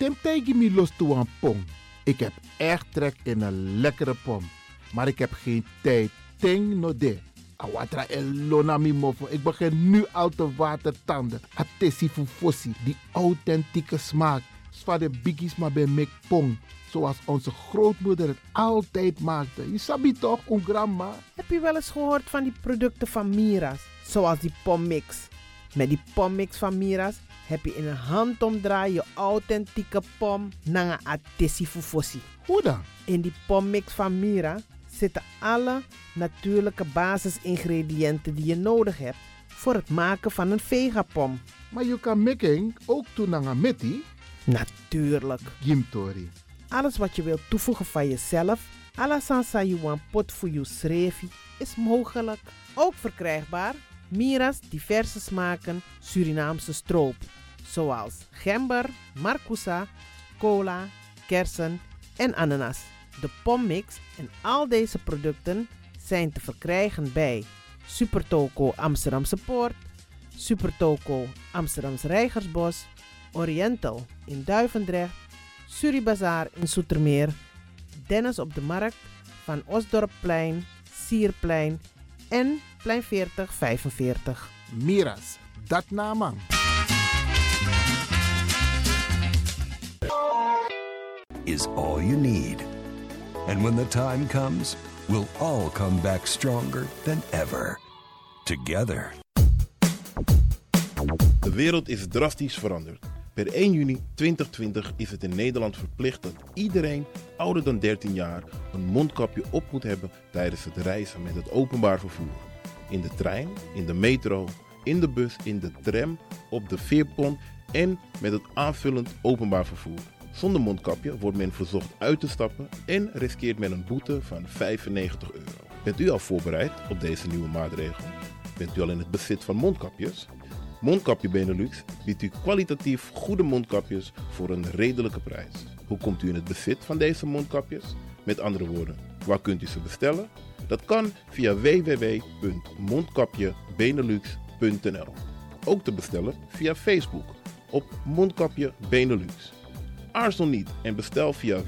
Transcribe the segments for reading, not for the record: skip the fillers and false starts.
Temtegi mi los toe aan pom. Ik heb echt trek in een lekkere pom. Maar ik heb geen tijd. Ting no de. Awatra elona mi mofo. Ik begin nu al te watertanden. Atesi fufosi. Die authentieke smaak. Zwa de biggies maar bij mek pom. Zoals onze grootmoeder het altijd maakte. Je sabi toch, een grandma? Heb je wel eens gehoord van die producten van Mira's? Zoals die pommix. Met die pommix van Mira's heb je in een handomdraai je authentieke pom naar een atesi fufosi. Hoe dan? In die pommix van Mira zitten alle natuurlijke basisingrediënten die je nodig hebt voor het maken van een vegapom. Maar je kan making ook doen naar een metti? Natuurlijk. Gimtori. Alles wat je wilt toevoegen van jezelf, alla sansa you want pot voor je schreefie, is mogelijk. Ook verkrijgbaar Mira's diverse smaken Surinaamse stroop. Zoals gember, marcousa, cola, kersen en ananas. De pommix en al deze producten zijn te verkrijgen bij Supertoco Amsterdamse Poort, Supertoco Amsterdamse Reigersbos, Oriental in Duivendrecht, Suribazaar in Zoetermeer, Dennis op de Markt, Van Osdorpplein, Sierplein en Plein 4045. Mira's, dat naman. Is all you need. And when the time comes, we'll all come back stronger than ever. Together. De wereld is drastisch veranderd. Per 1 juni 2020 is het in Nederland verplicht dat iedereen ouder dan 13 jaar een mondkapje op moet hebben tijdens het reizen met het openbaar vervoer. In de trein, in de metro, in de bus, in de tram, op de veerpont en met het aanvullend openbaar vervoer. Zonder mondkapje wordt men verzocht uit te stappen en riskeert men een boete van €95. Bent u al voorbereid op deze nieuwe maatregel? Bent u al in het bezit van mondkapjes? Mondkapje Benelux biedt u kwalitatief goede mondkapjes voor een redelijke prijs. Hoe komt u in het bezit van deze mondkapjes? Met andere woorden, waar kunt u ze bestellen? Dat kan via www.mondkapjebenelux.nl. Ook te bestellen via Facebook op Mondkapje Benelux. Aarzel niet en bestel via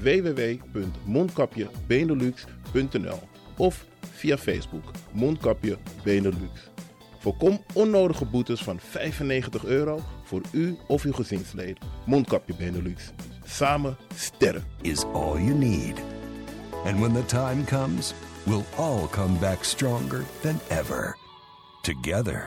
www.mondkapjebenelux.nl of via Facebook Mondkapje Benelux. Voorkom onnodige boetes van €95 voor u of uw gezinsleden. Mondkapje Benelux. Samen sterk. Is all you need. And when the time comes, we'll all come back stronger than ever. Together.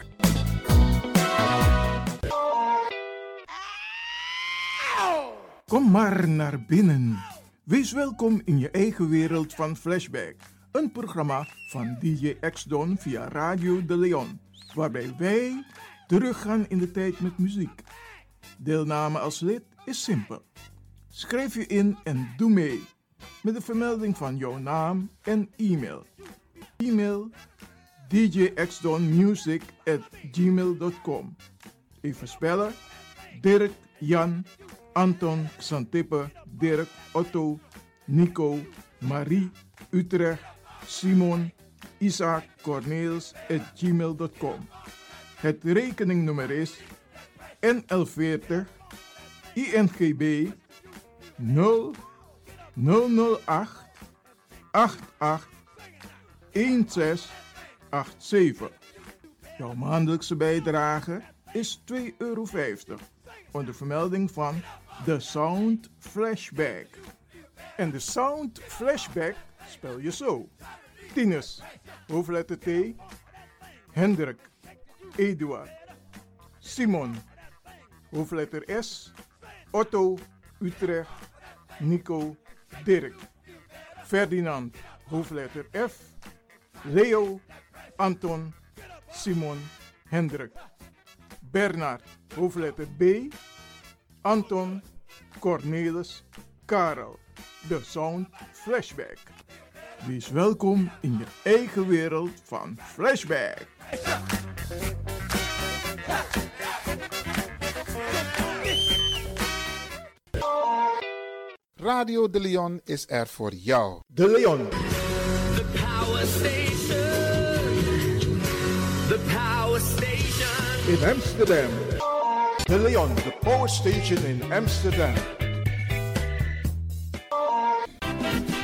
Kom maar naar binnen. Wees welkom in je eigen wereld van Flashback. Een programma van DJ X-Don via Radio de Leon. Waarbij wij teruggaan in de tijd met muziek. Deelname als lid is simpel. Schrijf je in en doe mee. Met de vermelding van jouw naam en e-mail. E-mail djxdonmusic@gmail.com. Even spellen. Dirk, Jan, Anton, Xantippe, Dirk, Otto, Nico, Marie, Utrecht, Simon, Isaac, Corneels @gmail.com. Het rekeningnummer is NL40 INGB 0008 88 1687. Jouw maandelijkse bijdrage is €2,50 onder vermelding van The Sound Flashback. En de Sound Flashback spel je zo: Tinus, hoofdletter T, Hendrik, Eduard, Simon, hoofdletter S, Otto, Utrecht, Nico, Dirk, Ferdinand, hoofdletter F, Leo, Anton, Simon, Hendrik, Bernard, hoofdletter B, Anton, Cornelis, Karel. De Sound Flashback. Wees welkom in je eigen wereld van Flashback. Radio de Leon is er voor jou. De Leon. The Power Station. The Power Station. In Amsterdam. De Leon, de Power Station in Amsterdam.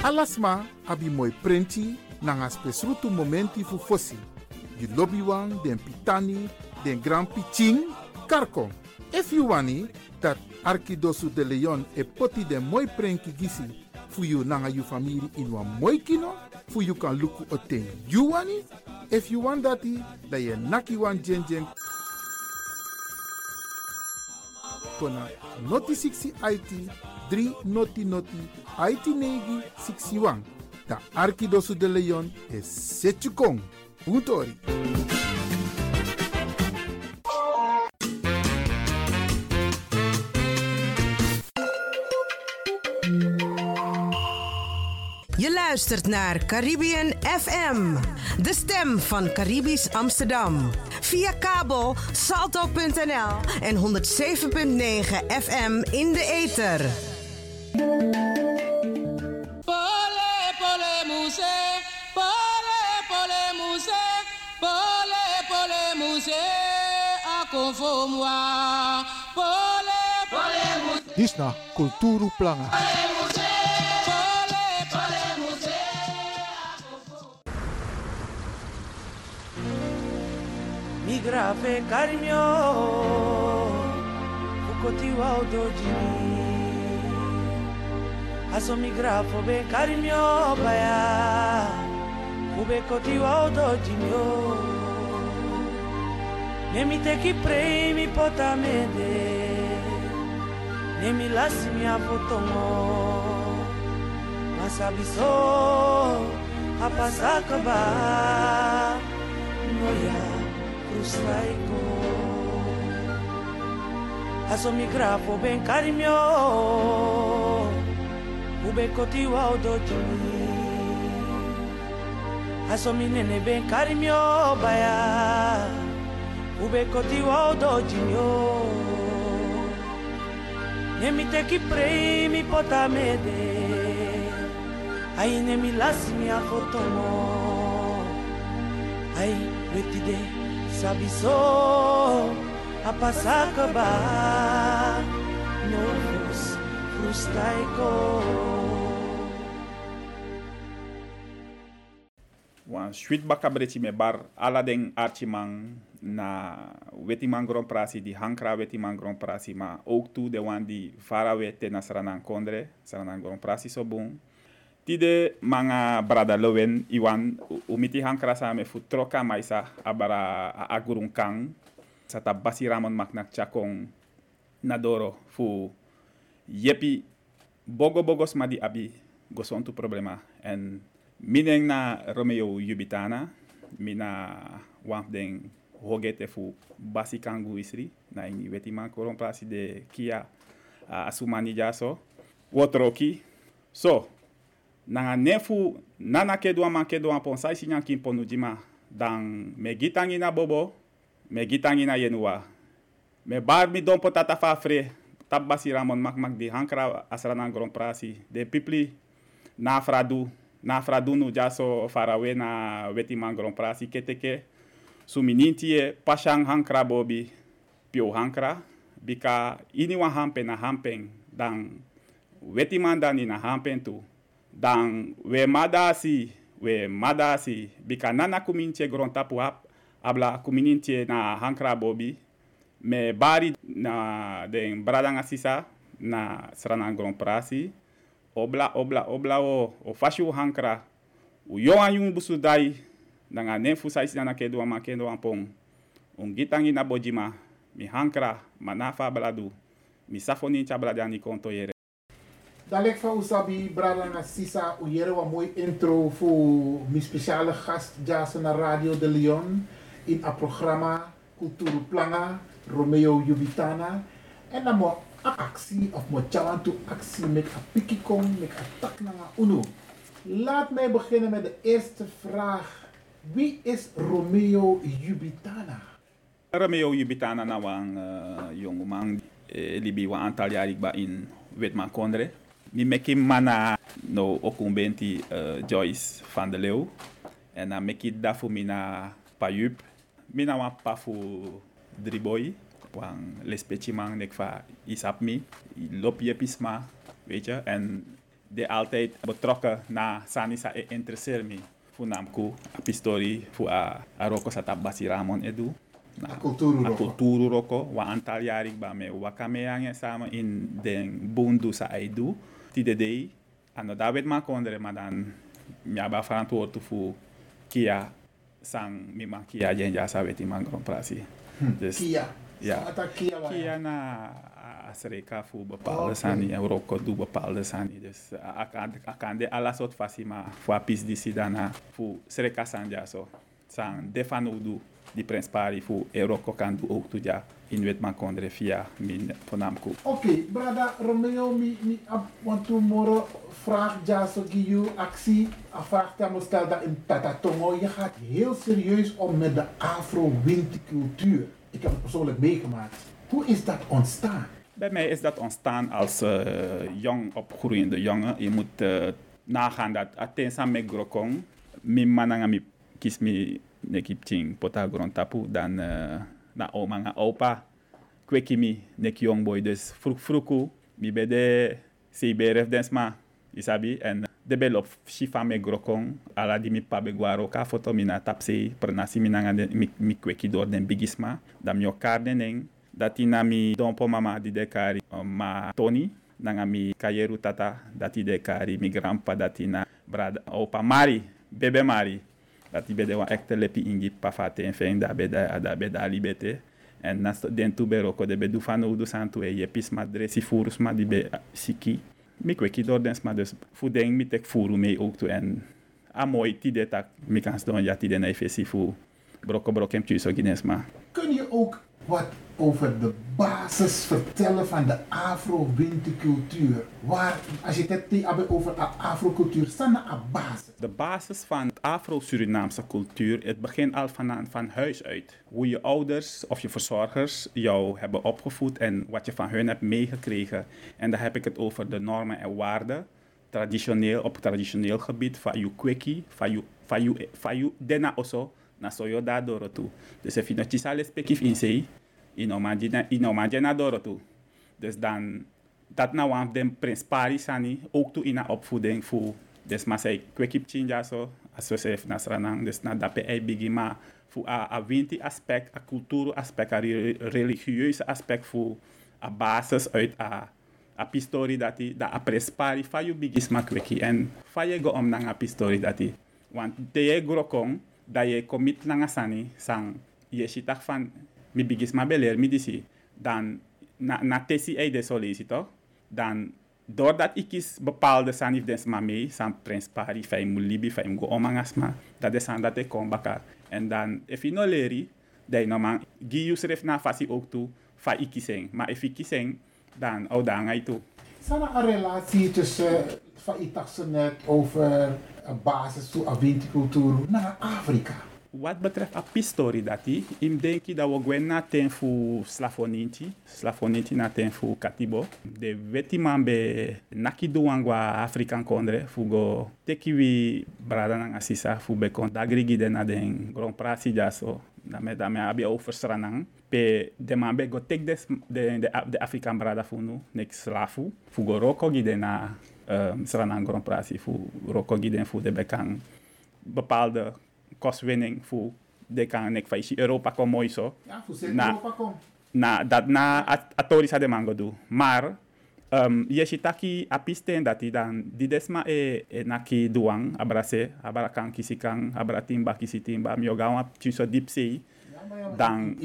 Alasma abi moi prenti nanga spesrutu momenti fu fosi. Di lobby wan, den pitani, den grand piching, karko. If you wani, dat Arkidosu de Leon e poti den moi prenki gisi fu you nanga you family in wan moi kino, fu you kan luku oten you wani. If you want dati, da ye naki wan jen kona noti 60 IT 3 noti IT negi 61. Da Arkidosu de Leon e setjukong. Puntori. Je luistert naar Caribbean FM, de stem van Caribisch Amsterdam. Via kabel salto.nl en 107.9 FM in de ether. Pole pole muse, ako for moi. Pole muse. Dis na Kulturu Planga. Migrave carinho, fukoti wa odojini. Aso migrafo be carinho baya, ube koti wa odojini. Nemi te ki premi potamede, nemi lasi mi afotongo. Masabiso, apasakaba, noya. Frustraiko aso migrafo ben carinho ube koti wa odojini aso minene ben carinho baya ube koti wa odojini nemi te ki premi potamede ai nemi lasi mi afotomo ai wetide Sabiso apasakaba novos frustaiko. Wan sweet bakabreti me bar aladeng archimang na wetimang grand prasi di hankra wetimang grand prasi ma ook toe de wan di farawe te na saranan kondre saranan grand prasi so bun. Tide manga brada lowen iwan umiti hankra sa me fu troka maisa abara agurung kang sata basi ramon maknak chakong nadoro fu yepi bogos madi abi gosontu problema en mineng na Romeo Yubitana mina wamp den hogete fu basi kangu isri na ini weti man koron plasi de kia asumani jaso wotroki so nanga nefu nana kedwa ponsai sinya kim ponu jima dan me gitangi na bobo me gitangi na yenua me bar mi don potata fa fre tabasi ramon mak di hankra asrana grand prasi de pipli na fradu nu jaso farawe na weti man grand prasi keteke suminintie pashang hankra bobi pio hankra bika ini wa hampen na hampen dan weti man dani na hampen tu dan we madasi bika nana kumintie gronta puap abla kumintie na hankra bobi me bari na den bradanga sisa na srana grand prasi obla o fashu hankra u yo ayun busudai nanga nefu saisi na kedo makendo ampong ungitangi na bojima mi hankra manafa bladu mi safoni chabladani konto yere. Dalek van Usabi, Brada Sisa, u jere wat mooi intro voor mijn speciale gast, Jason naar Radio de Leon, in het programma Kulturu Planga, Romeo Yubitana. En dan moet actie, of moet chawantu actie met een pikikong, met een tak naar UNO. Laat mij beginnen met de eerste vraag. Wie is Romeo Yubitana? Romeo Yubitana na wang jongeman, libi wa aantal jaar ik ba in Wetman Kondre. Mi meki mana no okumbenti Joyce van der Leeuw. En na meki dafu mina payup. Mina wan pafu driboy. Wan lespeci man nek fa isap mi. Lop je pisma, weet je. En die altijd betrokken na Sanisa interesseert me. Voornamelijk op historie, voor Roko Sata Basi Ramon Edu. A cultuur Roko, wa aantal jaar ik ben met Wakameang samen in den Bundu sa Aidu. TDD, en dat weet maar kondre, maar dan heb verantwoord voor Kia sang mima Kia jenja sa weet man Grand Prix. Dus Kia. Ja. Kia na Asreka voor bepaalde sani en Roko doe bepaalde sani. Dus ik kan de alle soort fasie maar voor pis die sidana voor Sreka sanja zo. Sang defano doe die prins pari voor Roko kan doe ook toe ja in wet man kondre via min ponamko. Oké, brada Romeo mi want tomorrow vraag ja zo giu actie afvraagt hem stel dat in Tatatongo je gaat heel serieus om met de Afro-Winti-cultuur. Ik heb het persoonlijk meegemaakt. Hoe is dat ontstaan? Bij mij is dat ontstaan als jong opgroeiende jongen. Je moet nagaan dat attensa me grokong, mi mananga mi kies mi nekip ting pota grontapu dan na oma nga opa kweki mi nek young boy dus vroeg mi bede CBRF densma isabi en de belop shifa me grokong ala di mi pabe guaro ka foto mi na tapse pernasi mi nanga mi kweki door den bigisma dan mi okarde neng dati na mi dompo mama di dekari ma Tony nanga mi kayeru tata dati dekari mi grandpa dati na brada opa Mari bebe Mari dati bede wa ekte lepi ingi pafate en fein da beda libete en nas den tubero ko de bedu fano du santu e yepis madre si furus ma di be siki mi kweki door dens ma dus fu deng mi tek furu mee ook toe en amoy ti de tak mi kan ston ja ti de na fesi fu broko kem tu so ginesma. Kun je ook wat over de basis vertellen van de Afro-Winti-cultuur? Waar, als je het hebt over de Afro-cultuur, staat er een basis? De basis van de Afro-Surinaamse cultuur, het begint al van huis uit. Hoe je ouders of je verzorgers jou hebben opgevoed en wat je van hun hebt meegekregen. En dan heb ik het over de normen en waarden. Op traditioneel gebied, van je kweki, van je dena oso, na soyo da doro toe. Dus als je nog chisale spekif in zee, in na doro toe. Dus dan, dat nou aan de prins Pari sani, ook toe in de opvoeding voor, dus maar zij kwekip chinja zo, als we zeggen nasranang, dus na dape ei bigi, maar voor a winti aspect, a cultuur aspect, a religieuze aspect voor a basis uit a pistori dati, da a prins Pari, fa you bigi sma kweki, en fa je go om nang a pistori dati. Want de je grokong, dat je commit langa sani sang je shitak van mi bigisma beler mi disi dan na tesi de solisi toch dan doordat ik is bepaalde sanif des ma mee san prins Pari fay mulibi fay go omangasma dat is aan dat ik kom baka en dan if je no leri dai no man gius ref na fasi ook toe fa ikiseng maar if ikiseng dan oudanga itu sana een relatie tussen van itakse net over basis toe Awinti-cultuur naar Afrika. Wat betreft de historie dat ik denk dat we gaan naar ten voor slafoninti naar ten voor katibo. De wetiman be nakiduangwa Afrikaan kondre fugo tekiwi brada nang asisa fu be kon dagrigi de na den Grand Prix jaso. Dame abi overstranang pe de man be go tek de Afrikaan brada funu nek slafu fugo roko gide na Sranang Grand Prix fu roko giden fu de bekang bepaalde kostwinning fu de kan nek faisi Europa kom mooi zo. Ja, fu Europa kom. Dat na atorisa de mango do. Maar je shitaki apisten dat dan di desma naki duang abrase abarakan kisikang abratimba kisitimba miogawa tuso dipsei. Dan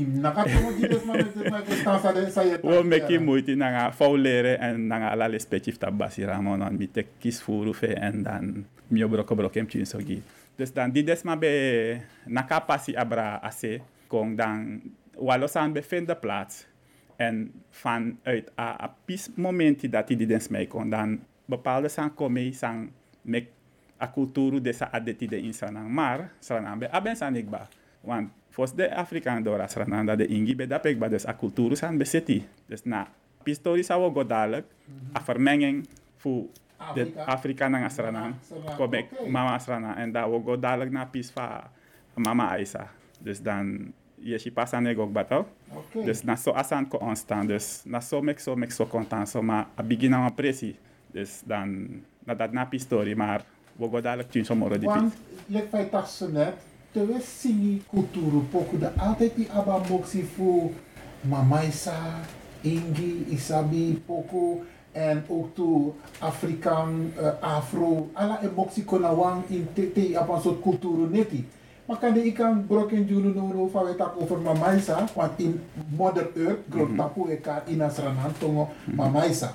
we meki moeite nanga fauleren en nanga ala respectief tabasi ramon an mi tek kis furu fe en dan mio broko kem chin sogi. Dus dan di desma be naka pasi abra ase kong dan walosan bevindt de plaats en vanuit a pis momenti dat die dens mee kon dan bepaalde sang komei sang mek a kulturu desa adeti de insanang maar sanang be aben sanikba want fos de Afrikaan dora srananda de ingi be dapek ba dus a kulturu san beseti. Dus na pistori sawo go dadelijk a vermenging fu de Afrikaan nang asranan komek mama asrana en da wo go dadelijk na pis fa mama Aisa. Dus dan je si pasan ook bato. Dus na so asan ko onstaan dus na so mek so content so ma a begin na presi. Dus dan, dat na pistori, maar we gaan dadelijk tien sommigen die Want, let mij toch zo net, terwijl singi cultuur poku de altijd die aba moxie voor mamaisa, ingi, isabi, poku en ook toe Afrikaan, Afro, alla e moxie konawang in te aba een soort cultuur neti. Maar kan ik kan broken julu no van het over mamaisa, want in Mother Earth, grond tapu eka in asranan tongo mamaisa.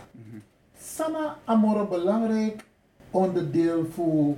Sana amore belangrijk onderdeel voor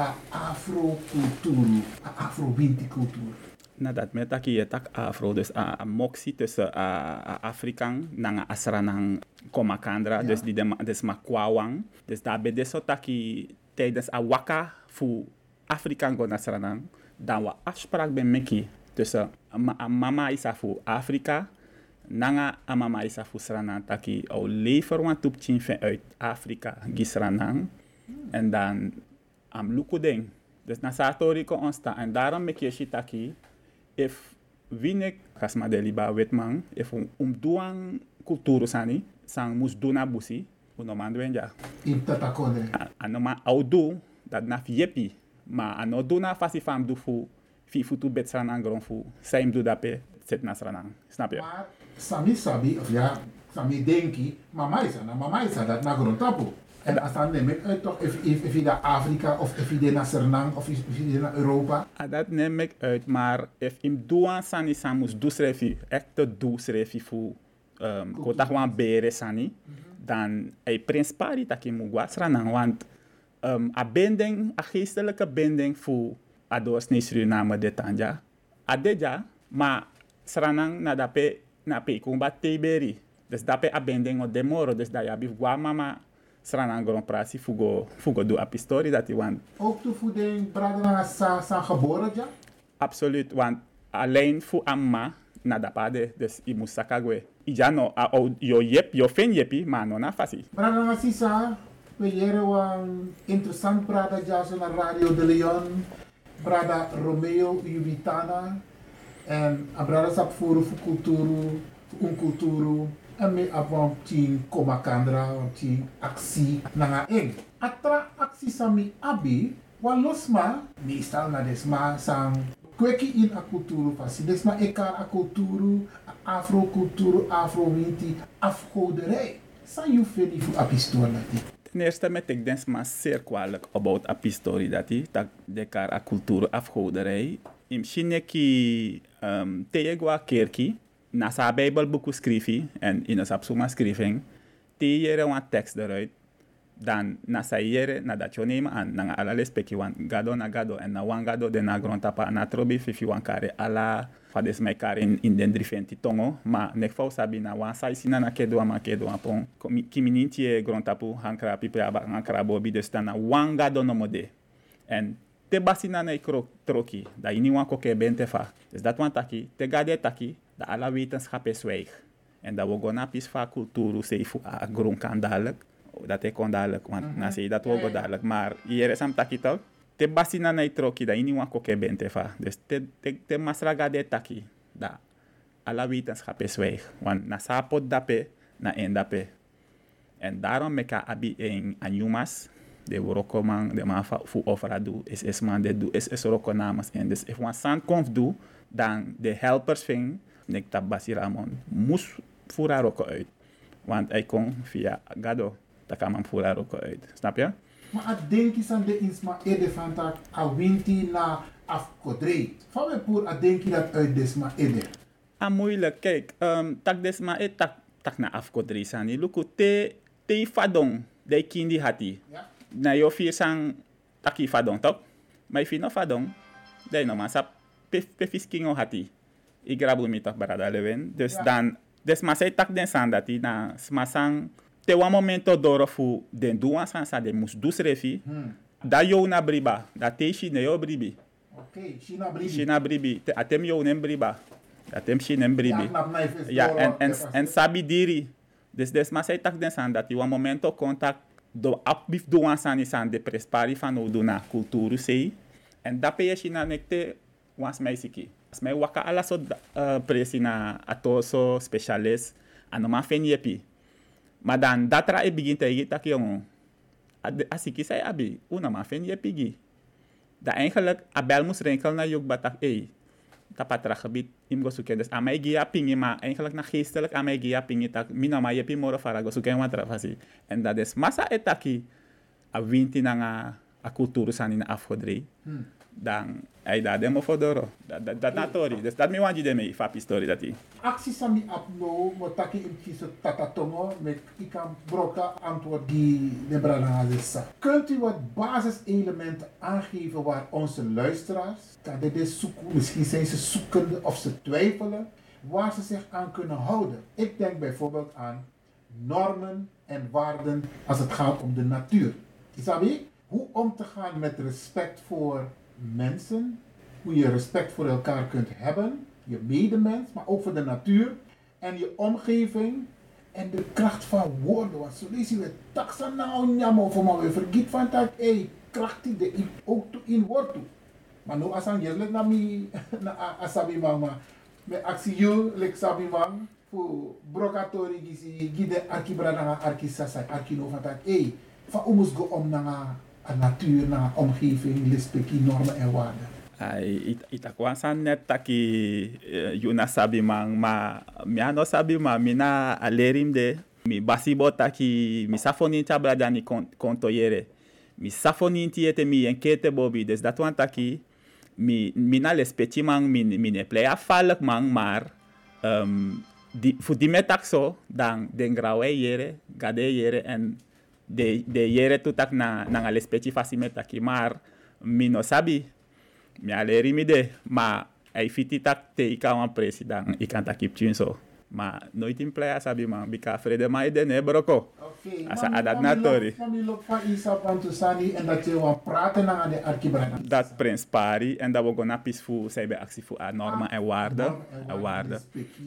afro-cultuur, afro-winti-cultuur. Nadat met dat je tak afro, dus een moxie tussen Afrikaan en asranang komakandra, dus die dus ma kwawang. Dus daar bij deze taki tijdens a waka voor Afrikaan go asranang, dan we afspraak bij meki tussen mama is voor Afrika, nanga mama is voor Sranang taki au lever wan tup chin uit Afrika gisranang en dan am lukudeng. Dus na satori ko onsta en daarom mek je shitaki if winek kasma deliba wetman if duang kulturu sani sang mus duna busi uno mandwenja in tatakone anoma audu dat na yepi ma ano duna fasi fam du fu fi futu bet Sranang gron fu saim du dape set na Sranang, snap je? Maar sami sabi of ja sami denki mama is dat na gron tapu. En als dan neem ik uit toch, if je naar Afrika of if je naar Sernang of if je naar Europa? Dat neem ik uit, maar if im doan sani samus du schrefi, echt du schrefi voor kota gewoon bere sani, dan ei prinspari taki mugwa Sernang, want a binding, a geestelijke binding voor a doorsnee Suriname de Tanja, a deja, maar Sernang na dape na pe kumba teberi, dus dape a binding o demoro, dus da ya bif gwa mama Sranang Grand Prix fugo do a pistori dat hij want. Ook de voeding braden sa geboren ja? Absoluut, want alleen voor amma na dapade dus i musakagwe. Ija no yo fen yepi maar no na fasi. Braden na sisa we leren wan interessant braden ja zo na Radio de Leon, brada Romeo Jubitana en a braden sap voor culturu, culturu. En me abon ting komakandra, ting aksi nanga eng. Atra aksi sami abi, walosma, meestal na desma sang kweki in a kulturu fasi. Desma eka a kulturu, afro-kulturu, afro-winti, afgoderij. San you feli fu apistoor nati? Ten eerste met ik desma zeer kwalijk about apistori dati, tak dekar a kulturu afgoderij. Im shineki teegwa kerki, na sa Bijbelboek schrijven en in een sapsuma schrijving, te jere een tekst eruit, dan na sa jere na dat je nemen aan na ala speki wan gado na gado en na wan gado de na grondtapa na trobi fifi wan kare ala fades mai kare in den drifenti tongo, ma nek fau sabi na wan sa isina na kedo pon kiminintie grondtapu hankra pipe aba hankra bobi dus dan na wan gado no mode en te basina na troki da ini wan koke bente fa dus dat wan taki te gade taki dat alle wetenschap is zwijg. En dat we gaan naar van cultuur zeven a grond kan dadelijk. Dat ik kon dadelijk, want na zei dat we gaan dadelijk. Maar hier is hem taki toch? Te basina na itroki dat ini wan koke bente fa. Dus te masraga de taki dat alle wetenschap is zwijg. Want na sapot dape na en dape. En daarom meka abi en anyumas de rokoman de man fu ofra do is man de do is rokonamas en dus if one san konf do dan de helpers ving nek tabasi Ramon mus fura roko uit. Want hij kon via gado dat kan man fura roko uit. Snap je? Maar denk je aan de insma ede van tak a winti na afkodre. Van we poer a denk je dat uit desma ede. Moeilijk, kijk, tak desma ede tak na afkodre sani. Luku te fadong de kindi hati. Ja. Na yo vier sang taki fadong toch? Maar je vindt no fadong, de no man sap pe fiskingo hati. Ik grabu mi toch barada leven. Dus ja. Dan, des masai tak den san dati na smasang te wan momento doro fu den duan san sa de mus dus refi. Da yo na briba, da te shi ne yo bribi. Okay, shina bribi. Shina bribi, atem yo nem briba. Atem shi nem bribi. Ja, en sabi diri. Dus des masai tak den san dati wan momento contact do apbif duan san isan de prespari fan o do na kulturu sei. En da pe ye shina nekte wans meisiki. Mas waka ala so presi na atoso specialist ano ma fen yepi. Maar dan datra e begin te yita ki yung Als ik zei, abi, una ma fen je pigi. Dat eigenlijk, abel moest renkel naar juk batak, tapatra gebied, im go zoeken. Dus aan mij gia pingi, maar eigenlijk naar geestelijk aan mij gia pingi, tak, mina ma je pi moro fara go zoeken wat rafasi. En dat is massa etaki, a winti na a cultuur san in afgodri. Dan ai da demo fodoro. Dat natori. Dus dat mi wanji de me fapi story dat Actie sami apno motaki im kiso tatatongo met ikam broka antwoord die de brana zessa. Kunt u wat basiselementen aangeven waar onze luisteraars, dat dit zoeken, misschien zijn ze zoekende of ze twijfelen, waar ze zich aan kunnen houden? Ik denk bijvoorbeeld aan normen en waarden als het gaat om de natuur. Isabi, hoe om te gaan met respect voor mensen, hoe je respect voor elkaar kunt hebben, je medemens, maar ook voor de natuur en je omgeving en de kracht van woorden. Want zo lezen we taksa nou nyamo voor maar we vergiet van dat kracht die de ook in woord toe. Maar nu als aan je let naar mij na asabi mama met actie je lek sabi man voor brokatori gisi gide arkibrana arkisasa arkino van dat van omus go om naar natuur, naar omgeving, respectie, normen en waarden. Itakwasan net taki yuna sabi mang ma miano sabi ma mina alerim de mi basibo taki mi safonin tabla dani kontoyere mi safonin tiete mi enkete bobi des dat wan taki mina respecti mang mine play afalk mang maar fu di metak so dan den grawe yere gade yere en de yere tutak na respecti fasimetaki maar mi no sabi mi aleri mi de, maar ai fiti tak te ika wan president, ikan takip so. Maar nooit in playa sabi man, bika vrede ma ide ne broko. Asa adat natori. Mami lok van isa pantusani en dat je wan praten na de arkibrana. Dat prins pari en dat we gona pisfu sebe actie fu a norma en waarde.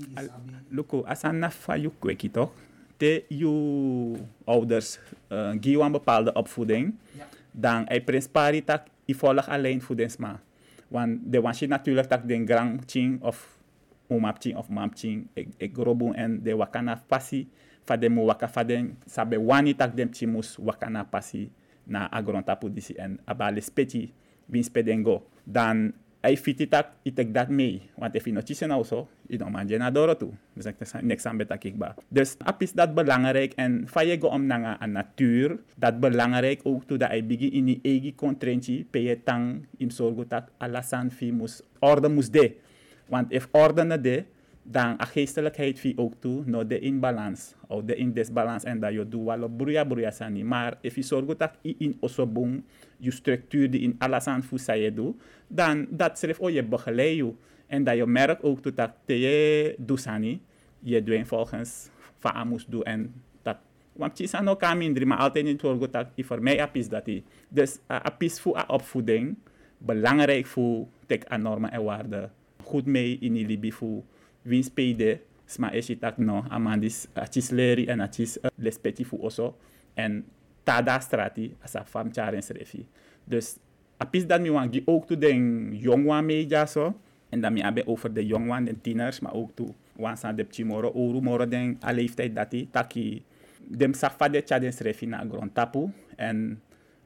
Luko, asa na fa yu kweki toch? Te yu ouders gi wan bepaalde opvoeding. Dan ai prins pari tak i volg alleen voedingsma. Want de wansi natuurlijk tak den grand ching of umapching of mamching ek grobu en de wakana pasi fa de mu waka fa den sabe wani tak dem chimus wakana pasi na agrontapu disi en abale speti bin spedengo dan ai fiti tak itek dat mee want if no chisen also ino manje na doro tu dus ek next aan beta kikba dus apis dat belangrijk en fa je go om nanga a natuur dat belangrijk ook to da ai bigi ini egi kontrenchi pe tang im sorgo tak alasan fi mus orde mus de want if orde na de dan a geestelijkheid fi ook toe no de in balans of de in disbalans en dat je doe walo bruya sani maar if je sorgo tak in osobung je structuur die in alasan fu sa je doe dan dat schrijf je begeleid je en dat je merkt ook toe dat je doe sani je doet volgens van amus doe en dat want je san ook mindri maar altijd in sorgo tak voor mij apis dat die dus apis fu a opvoeding belangrijk voor tek a normen en waarden goed mee in die libi fu wins pede sma eshitak no amandis achis leri en achis respecti fu oso en tada strati asa fam charen srefi dus apis dat mi wangi ook to den jongwan meja so en dan mi abe over de jongwan en tieners maar ook to wansa de chimoro oru moro den a leeftijd dati taki dem safade chaden srefi na grond tapu en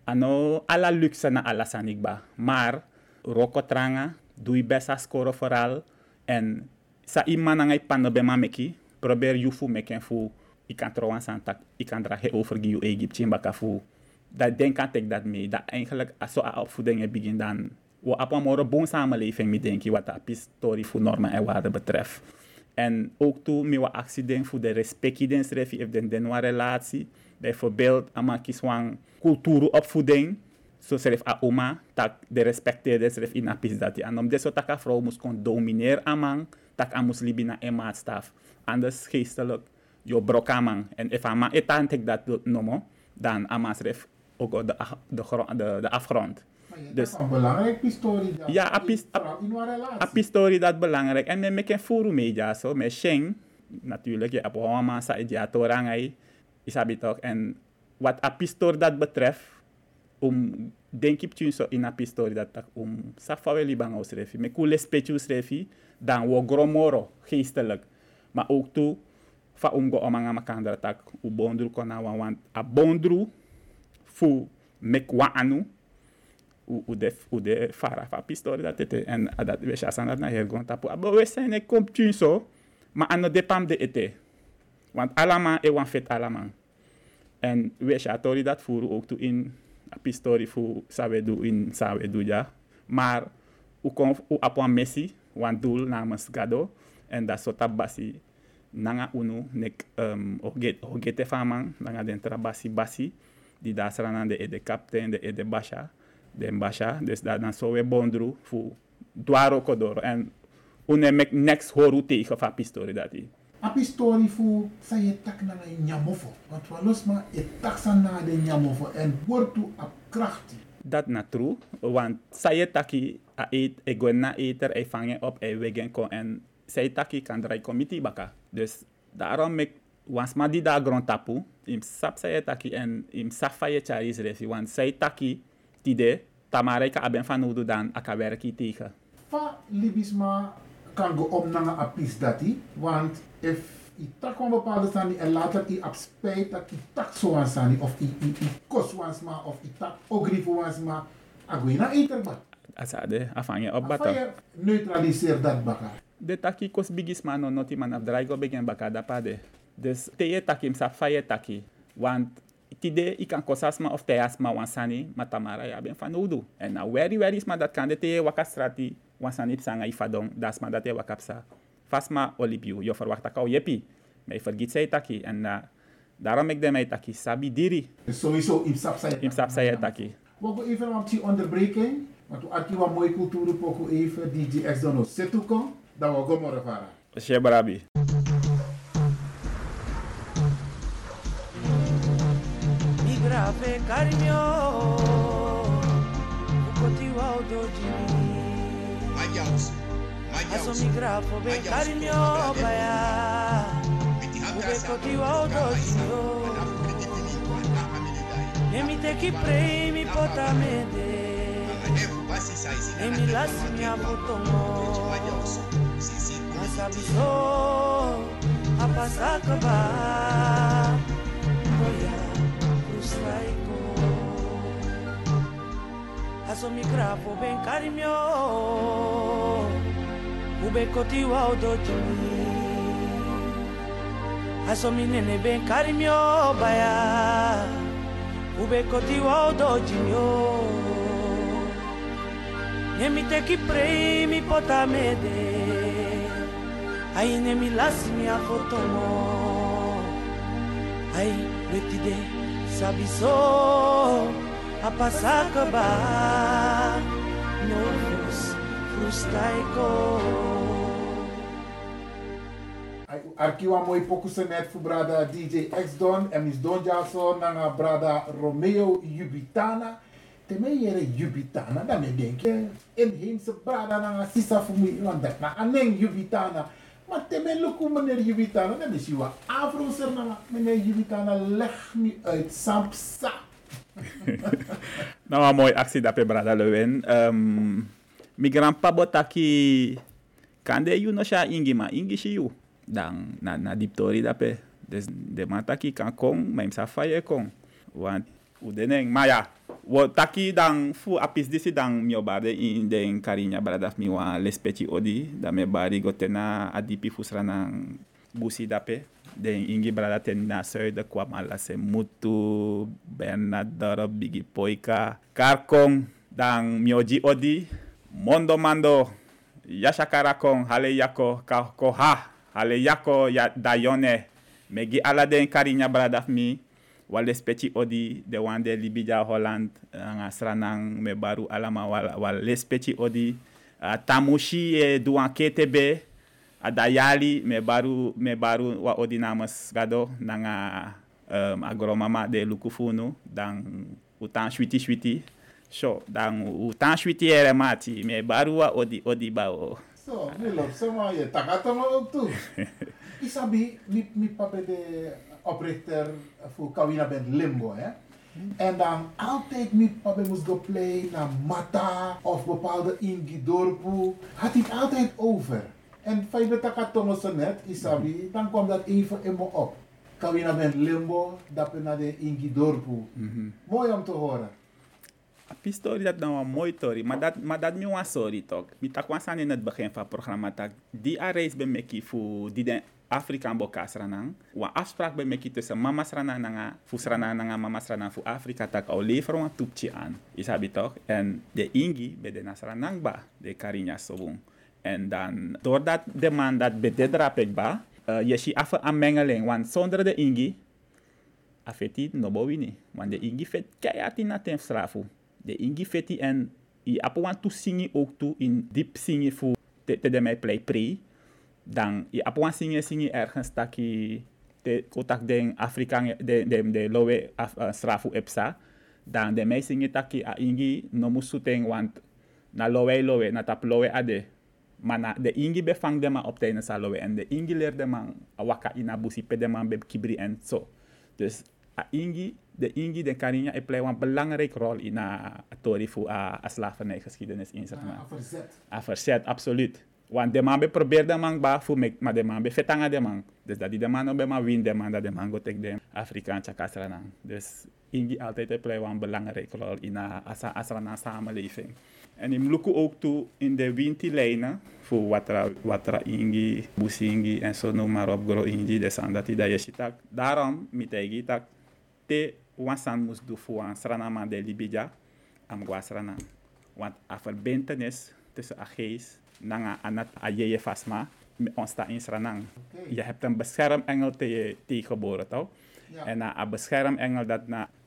ano ala luxe na ala sanigba maar roko tranga dui besa score vooral en sa iman ngay panobema meki probeer yufu meken fu ikan trouwan santak ikan drahe over giu Egypt chimbaka fu dat denk kan tek dat mee dat eigenlijk so a opvoeding begin dan wo apa moro bon samenleving mi denki wat a story fu normen en waarden betreft en ook toe mi wa accident fu de respecti den srefi if den wa relatie bijvoorbeeld amakis wan kulturu opvoeding so seref a oma tak de respecteerde seref in apis dat die anom deso taka vrouw mus kon domineer amang tak amus libina en maatstaf anders geestelijk jo brokamang en if ama etan tek dat nomo dan ama seref ook de afgrond dus een belangrijke story dat ja apis story dat belangrijk en men meken furu media so me sheng natuurlijk je apo ama sa ja torangai isabi toch en wat apis story dat betreft denk ik so in een story dat tak safawe libang aus refi me kule specius refi dan wo gromoro geestelijk maar ook toe fa go omanga makandra tak u bondru kona want a bondru fu mekwa anu u de fara fa pistori dat ete en dat we chasan dat na hergon tapu abo we zijn ek kom tun so maar ano depam de ete want allemaal e wan fet allemaal en we chatori dat furu ook toe in a pistori fu sawe do ja maar u apwan messi wan doel namens gado en dat sota basi nanga unu nek ogete faman nanga den basi die daar staan de kapitein de basha den basha dus daar dan zo we bondru fu dwaro kodoro en une mek next horu tegen van pistori dat die a pistori fu sa je tak na nyamofo want walos ma e taksa na de nyamofo en wortu a krachti dat na true want sa je taki a eet e gonna eter e vangen op e wegen kon en say taki kan dry committee baka dus daarom mek wans ma di da grond tapu im sap say taki en im safaye charis refi want say taki tide tamare ka aben van udu dan aka werki tegen fa libisma kan go om na a pis dati want if i tak een bepaalde sani en later i ab spijt dat i tak zo aan sani of i kos wansma of i tak ogrifo wansma agoi na eter ba asade afanye op bata afanye neutraliseer dat baka de taki kos bigis man no noti man af draigo begen baka da pade dus teye taki im sa faye taki want tide i kan kosasma of teasma wansani matamara ya ben van udu en na very sma dat kan de teye wakastrati wansani psanga ifadong dasma dat e wakapsa fasma olipiu yo verwacht akau yepi maar je vergiet zij taki en daarom ik de mij taki sabi diri sowieso im sap saya taki we gaan even een onderbreking want we hebben een mooie cultuur poku even DJ X Dono setuko dan we gaan morgen vara Shebarabi Migrave carinho Ukotiwa odoji Aso migrafo be carinho baya Ukotiwa odoji Emi te ki prei mi potamede Emi lasi mi abotomo Nasabiso apasaka ba Oya Rustaiko Aso migrafo ben carinho Ube kotiwa odojumi Aso minene ben carinho baya Ube kotiwa odojumi Nemi te ki prei mi potamede Ai nemi lasi mi afotomo Ai wetide sabiso apasaka ba Novus frustaiko Arkiwa mooi pokusen net voor brada DJ X Don en mis Don Jason nanga brada Romeo Jubitana. Teme yere Jubitana, dan me denk je inheemse brada nanga sisa voor me want dat na aneng Jubitana. Maar teme luku meneer Jubitana, dan is je wat afrozer nanga meneer Jubitana leg me uit Sampsa. Nou een mooi actie dat pe brada Lewin. Mi grandpa botaki kande you no sha ingi ma ingi shi you. Dan na diptori dape dus de mataki kan kong maar imsa faye kong want udeneng maya wo taki dan fu apis disi dan mio bade in den karinya bradaf mi wa lespeci odi da me bari gotena adipi fusrana busi dape den ingi brada ten na de kwa mala se mutu bernadoro bigi poika karkong dan mioji odi mondo mando yashakara kong hale yako koha hale yako ya dayone megi aladen karinya bradaf mi wale speci odi de wande libija Holland nga sranang me baru alama wale speci odi tamushi e duan ketebe adayali me baru wa odi namas gado nanga agromama de lukufunu dan utan switi so dan utan switi ere mati me baru wa odi bao. So, Willem, zomaar je takatama ook toe. Isabi, mi papa de oprichter voor Kawina Band Limbo, hè. En dan altijd mi papa moest go play naar Mata of bepaalde Ingidorpu. Had hij altijd over. En fijn dat takatama zo net, Isabi, dan kwam dat even in me op. Kawina ben limbo, dat na de ingi dorpu. Mooi om te horen. Die story dat nou een mooie story, maar dat nu een sorry toch. Ik tak in het begin van het programma dat die reis bij mij voor die de Afrikaan bokas ranang. Wa afspraak bij mij tussen mama ranang nanga, voor ranang nanga mama ranang voor Afrika tak al leveren een toepje aan. Is dat toch? En de ingi bij de nasranang ba, de Karinya Sobong. En dan doordat de man dat bij de drapek ba, je ziet af een mengeling, want zonder de ingi afeti no bowini, want de ingi vet keihard in het strafu. De ingi feti en i apuan tu singi ook toe in diep singi voor te mij play pre. Dan i apuan singi ergens taki te kotak den Afrikaan de lowe strafu epsa. Dan de mij singi taki a ingi no musuteng want na lowe na tap lowe ade. Maar de ingi bevang de man op tijdens a lowe en de ingi leert de man waka ina busi pe de man be kibri en zo. Dus de Karinya play een belangrijke rol in de theorie voor de slavernijgeschiedenis in Suriname. Verzet, absoluut. Want de man probeert de man maar de man vetanga de man. Dus dat die de man op man win de man dat de man gaat tegen de Afrikaanse kasranang. Dus Ingi altijd play een belangrijke rol in de Asrana samenleving. En ik look ook toe in de winterlijnen voor wat Ingi, Busingi en zo noem maar op, Gro Ingi, de dat je ziet. Daarom met ik dat te wansan moest doen voor een Sranama de Libija am Guasrana. Want a verbintenis tussen a geest nanga anat a je fasma ontstaat in Sranang. Je hebt een beschermengel tegengeboren toch? Ja. En a beschermengel dat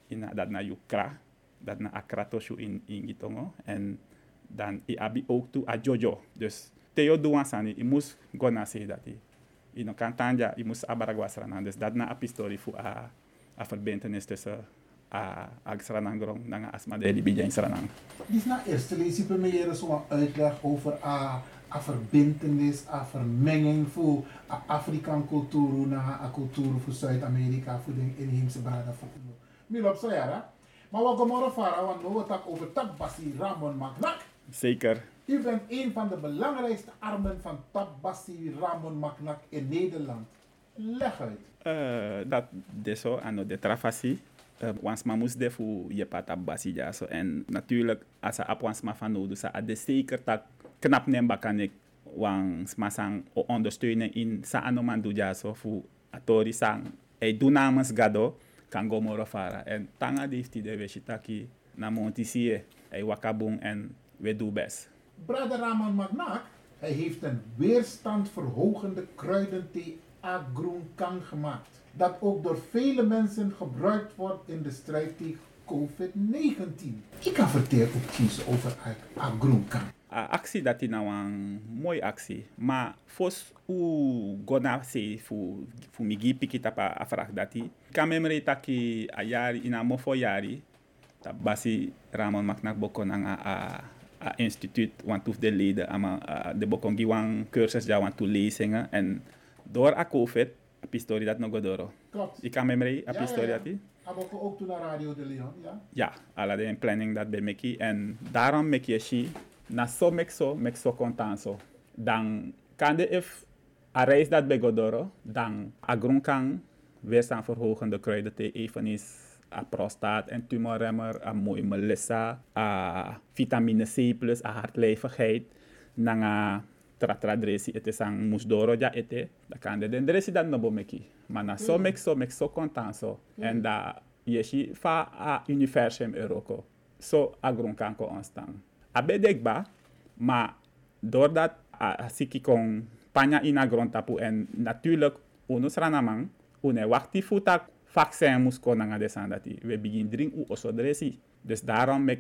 na Yukra, dat na Akratoshu in Gitongo. En dan i abi ook toe a Jojo. Dus Theo Duansani, i moest gona zeggen dat hij. In een kantanja, i moest abaragwasrana. Dus dat na a pistori voor a verbintenis tussen a Sranangrong en Asma de Libija in Sranang. Dus na eerste lees je meer zo'n uitleg over a verbintenis, a vermenging voor a Afrikaan cultuur naar a cultuur voor Zuid-Amerika, voor de inheemse braden. Milop zo ja, maar wat gaan we varen, want we hebben het over Tabbasi Ramon Maknak. Zeker. U bent een van de belangrijkste armen van Tabbasi Ramon Maknak in Nederland. Leg uit. Dat is zo, en de travasie. Wansma moest de voor je Tabbasi ja zo. En natuurlijk, als je op wansma van nodig is, is zeker dat knap nemba kan ik wansma sang ondersteunen in sa anoman doe ja zo voor atori sang. Hij doet namens Gado. Kan go moro fara. En tanga die heeft de weshitaki na montisie. Hij wakabung en we doen best. Brother Ramon Maknak, hij heeft een weerstandverhogende kruidenthee Agrunkan gemaakt. Dat ook door vele mensen gebruikt wordt in de strijd tegen COVID-19. Ik kan vertellen ook over Agrunkan. Actie dat is nou een mooie actie. Maar volgens u gona se voor migi piki tapa afraag dat hij. Kan memre taki a jari in een mofo jari. Dat basi Ramon Maknak bokon a instituut want hoef de leden de bokon giwang cursus ja want to lezingen en door a COVID a pistori dat nog godoro. Klopt. Ik kan memre a pistori dat hij. Aboko ook toen naar Radio de Leon, ja? Ja, alla de planning dat bij meki en daarom mek je si na so mek so contanso. Dan kan de if a reis dat bij godoro, dan a grunkan weerstand verhogende kruidenthee eveneens a prostaat en tumorremmer, a mooi melissa, a vitamine C+, a hartlijvigheid, nanga tratradresi ete sang musdoro ja ete, da kan de dendresi dan no bomeki. Maar na so mek so contanso en da yeshi fa a universum euroko. So a grunkan ko onstang. A bedekba, maar doordat a siki kon panya ina grondtapu en natuurlijk unus ranamang, une wakti futak vaccin moest komen naar de sandati. We beginnen drinken oso dresi. Dus daarom mek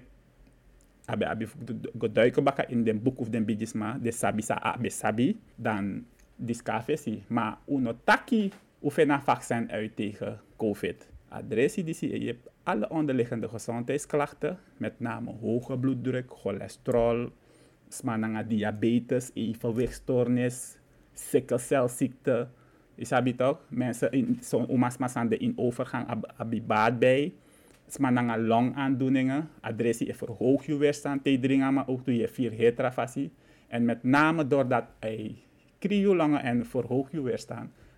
abi geduiken bakken in de boek of de bigisma de sabisa abe sabi dan discafesi. Maar uno taki oefena vaccin uit tegen COVID. Adressie die je hebt alle onderliggende gezondheidsklachten, met name hoge bloeddruk, cholesterol, smananga diabetes, evenwichtstoornis, sikkelcelziekte. Is dat toch? Mensen in zo'n omasmasande in overgang abibaat bij. Smananga longaandoeningen. Adressie verhoog je weerstand tegen maar ook doe je 4 hetrafassie. En met name doordat hij krieuwlangen en verhoog je weerstand,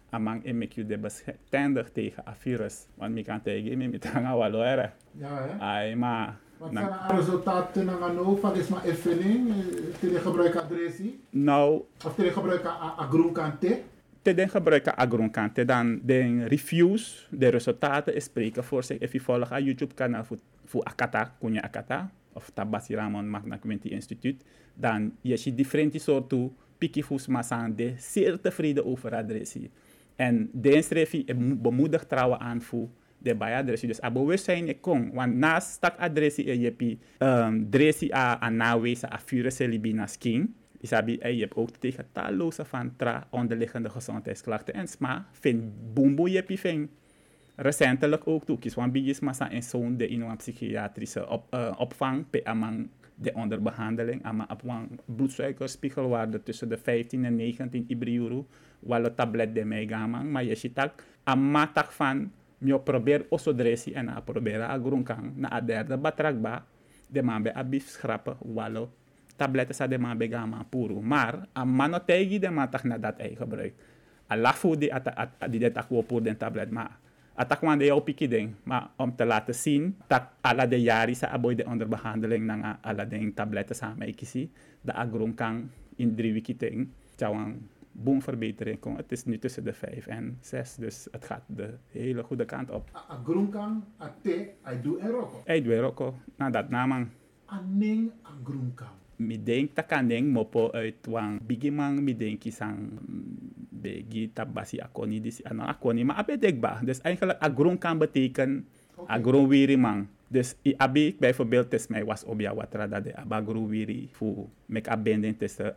amang en mek je de bestendig tegen een virus. Want ik kan tegen me met hangen waloere. Ja, hè? Ai, maar... Wat zijn de resultaten van van is maar invulling? Te gebruiken adressie? Nou... Of te gebruiken agroonkante? Te gebruiken agroonkante, dan de reviews, de resultaten spreken voor zich. Als je volgt aan YouTube kanaal voor Akata, Kunya Akata, of Tabasi Ramon Magna Quinty Instituut, dan je ziet differente soorten pikifus masaan de zeer tevreden over adressie. En deze review bemoedigt trouwen aan voor de bij-adressie. Dus bewustzijn ik kon, want naast stak adressie je hebt adressie aan nawezen aan virussen libina skin. Isabi, je hebt ook tegen talloze van onderliggende gezondheidsklachten en sma vind boemboe je vind recentelijk ook toe kies want bijis massa en zo'n de in een psychiatrische opvang pe amang de onderbehandeling ama op een bloedsuikerspiegelwaarde tussen de 15 en 19 ibriuru walo tablet de megamang maar je ziet ook amatak van je probeer osodressie en a probeer a groenkang na a derde batrakba de man be abif schrappen walo tabletten sa de man begama puro. Maar a mano tegi de man tak na dat ei gebruik. A lafu di di de tak wo pour den tablet maar atak wan de jou piki ding. Maar om te laten zien dat ala de jari sa aboy de onderbehandeling nang ala de tabletten sa me kisi de agron kan in 3 weken ting. Tjawang boomverbetering kon. Het is nu tussen de 5 en 6, dus het gaat de hele goede kant op. Agron kan a te ai do en roko. Ai do en roko. Na dat namang. Aning agron kan. Mi denk takaneng mopo uit wang bigimang mi denk isang begi tabasi akoni disi ano akoni maar abedekba. Dus eigenlijk agron kan betekenen agron wirimang. Dus i abi bijvoorbeeld tes mij was obia watra dat de abagro wiri fu mek abending tussen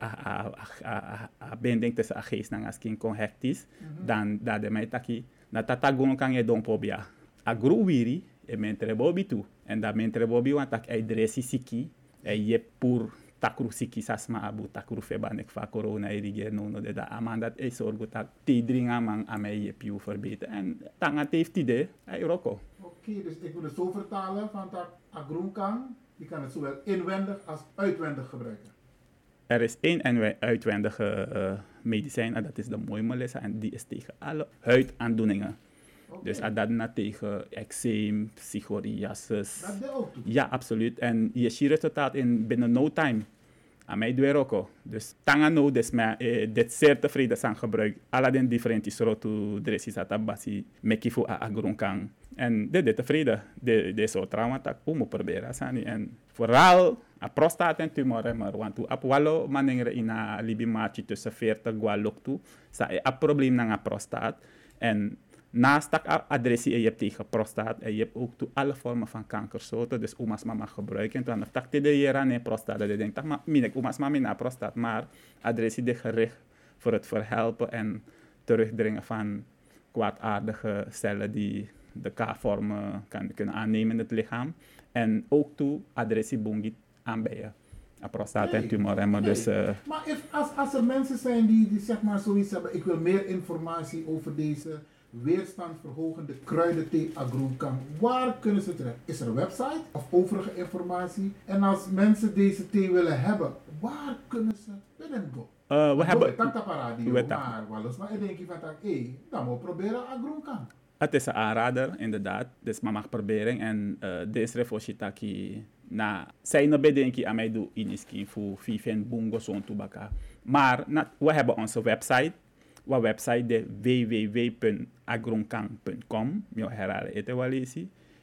a bending tussen a geest nang askin kon hectis dan dat de mij taki na tatagon kan je don pobia. Agro wiri e mentre bobi tu en da mentre bobi want tak ai dresi siki e je pur takru siki sasma abu takru febanek fa corona eriger no de da amandat e sorgo tak tidring amang amei je piu verbeteren en tangat heeft idee ai roko. Oké, dus ik wil het zo vertalen van dat agronkan, die kan het zowel inwendig als uitwendig gebruiken. Er is één uitwendige medicijn en dat is de Moimelissa en die is tegen alle huidaandoeningen. Okay. Dus dat tegen eczeem, psoriasis. Dat deed ook toe? Ja, absoluut. En je ziet resultaat in binnen no time. Aan mij doe ook. Dus tangano dus dit zeer tevreden zijn gebruik. Alle den differente soorten dresses atabasi mekifu a agronkan. En dit tevreden. De soort trauma tak moet proberen sani. En vooral a prostaat en tumor maar want tu ap walo manengre ina libi machi tussen 40 gwalok tu sa a probleem na prostaat. En naast dat adressie je hebt tegen prostaat en je hebt ook toe alle vormen van kankersoorten, dus oma's mama gebruiken. En dan tak te de jaren in prostaat, dat je denkt, tak maar minek oma's mama na prostaat, maar adressie de gericht voor het verhelpen en terugdringen van kwaadaardige cellen die de K-vormen kunnen aannemen in het lichaam. En ook toe adressie bungi aanbijen. Prostaat en tumorremmer. Dus, maar als er mensen zijn die zeg maar zoiets hebben, ik wil meer informatie over deze weerstandverhogende kruidenthee agronkan. Waar kunnen ze terecht? Is er een website of overige informatie? En als mensen deze thee willen hebben, waar kunnen ze binnenkomen? We hebben... Maar ik denk van dat, dan moet proberen agronkan. Het is een aanrader, inderdaad. Dus maar mag proberen. En deze refositaki na zijn bedenking aan mij doen in iskin voor viven bungo zo'n tobacca. Maar we hebben onze website. Wa website de www.agronkan.com. Mio herhalen het wel eens.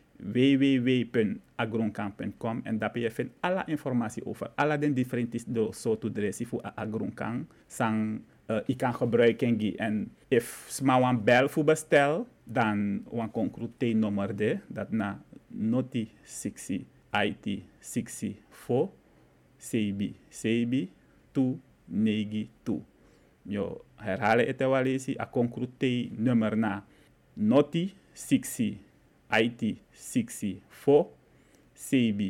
www.agronkan.com en daar je vindt alle informatie over alle de differente soorten dressie voor agronkan. Sang ik kan gebruiken en if smawan bel voor bestel dan wan concrete nummer de dat na noti 60 IT 64 CB 292. Yo herhalen het wel eens, a concrete nummer na noti 60 IT 64 CB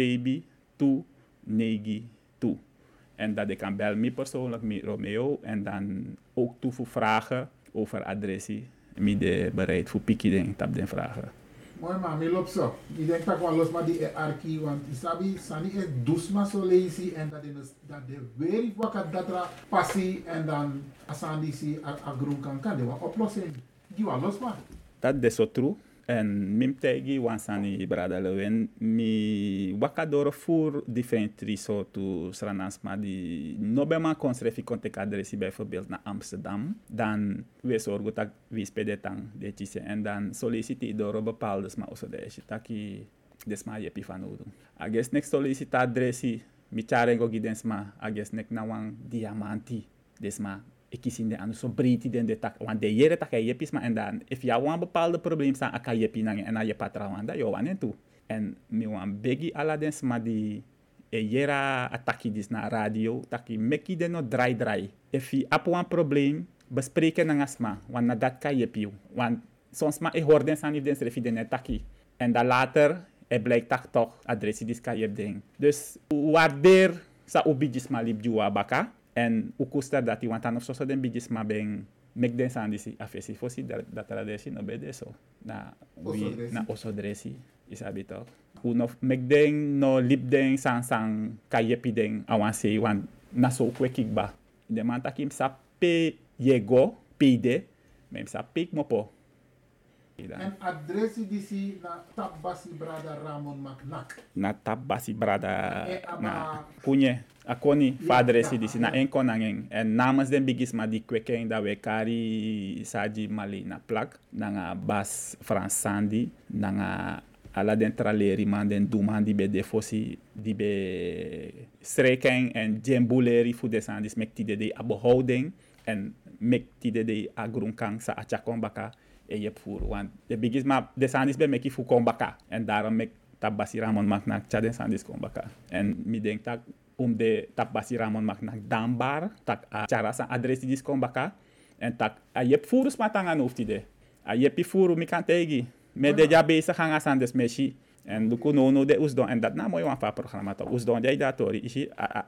292. En dat ik kan bellen mij persoonlijk met Romeo en dan ook toe voor vragen over adressie. Mij bereid voor pikking op de vragen. Mooi man, ik loop zo. Ik denk dat ik los maar die arki, want isabi sani is dusma so lazy en dat de weer wakker dat er passie en dan asandi si agroen kan de wat oplossing. Die wat los maar. Dat is zo true. En mim tegi wansani brada lewen mi wakadoro voor different riso to sranansma die nobema konstrefi kontek adressi bijvoorbeeld naar Amsterdam, dan we zorgen dat we spelen tang detjise en dan solliciteer door bepaalde sma oso de taki desma yepi van odo. Ages next solicita adressi mi charengo gidensma ages nek na wang diamanti desma ikisinde anu so briti den de tak want de jere tak yepis ma en dan if ya wan bepaalde probleem sa aka yepi nang en je patrawanda yo wan en tu en mi wan begi ala den sma di e jera ataki dis na radio taki meki den no dry if je ap wan probleem bespreken nang asma wan na dat ka yepi want soms ma e hoorden san if den refi den taki en dan later blijkt tak toch adressie dis ka yep ding dus waardeer sa ubijis ma lip juwa baka en ukusta dat die want dan of zo den bijis maar ben mek den san disi afesi fosi dat er desi no bede so na we na oso dresi is abito uno mek den no lip den san kayepi den awansi want na so kwekikba de man takim sa pe yego pide mem sa pik mopo en adresi disi na Tabbasi Brada Ramon Macnak. Na Tabbasi Brada na kunye akoni fadresi disi na enko nangen en namens den bigis ma di kweken da we kari saji mali na plak na bas fransandi na ala den traleri man den duman di be defosi di be streken en jembuleri fu desandis mektide de abohouding en mektide de agrunkang sa achakon baka e yep voor want de bigis ma de sandis be meki fu kombaka en daarom mek Tabbasi Ramon Macnak chaden sandis kombaka en mi denk tak de Tabbasi Ramon Macnak dambar tak a chara sa adres dis kombaka en tak a yep furus matangan uftide a yepi furu mi kan tegi me de ja bezig gaan sandes meshi en luku no de usdon en dat na mooi wan fa programma to usdon jai datori isi